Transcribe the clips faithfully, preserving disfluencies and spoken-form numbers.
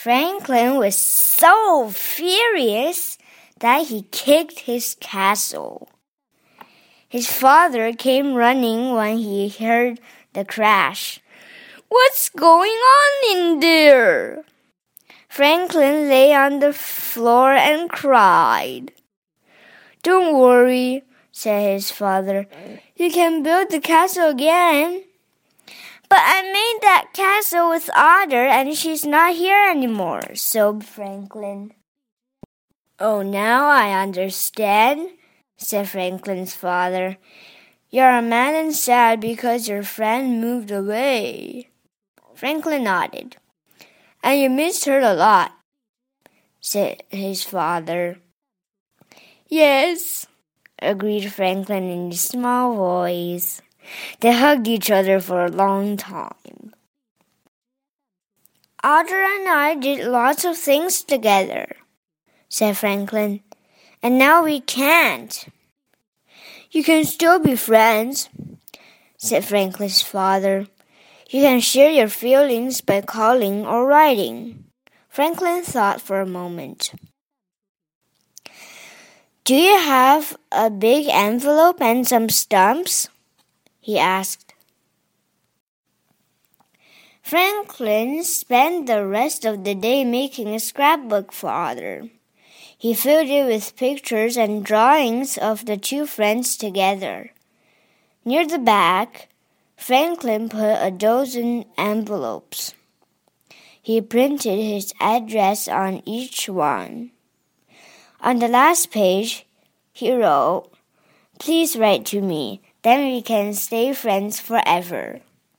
Franklin was so furious that he kicked his castle. His father came running when he heard the crash. "What's going on in there?" Franklin lay on the floor and cried. "Don't worry," said his father. "You can build the castle again." "But I made that castle with Otter and she's not here anymore," sobbed Franklin. "Oh, now I understand," said Franklin's father. "You're mad and sad because your friend moved away." Franklin nodded. "And you missed her a lot," said his father. "Yes," agreed Franklin in a small voice. They hugged each other for a long time. "Otter and I did lots of things together," said Franklin. "And now we can't." "You can still be friends," said Franklin's father. "You can share your feelings by calling or writing." Franklin thought for a moment. "Do you have a big envelope and some stamps?" he asked. Franklin spent the rest of the day making a scrapbook for Otter. He filled it with pictures and drawings of the two friends together. Near the back, Franklin put a dozen envelopes. He printed his address on each one. On the last page, he wrote, "Please write to me, then we can stay friends forever."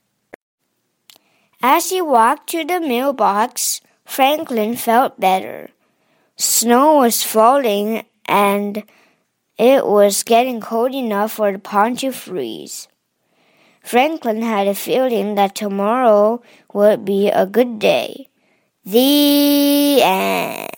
As he walked to the mailbox, Franklin felt better. Snow was falling and it was getting cold enough for the pond to freeze. Franklin had a feeling that tomorrow would be a good day. The end.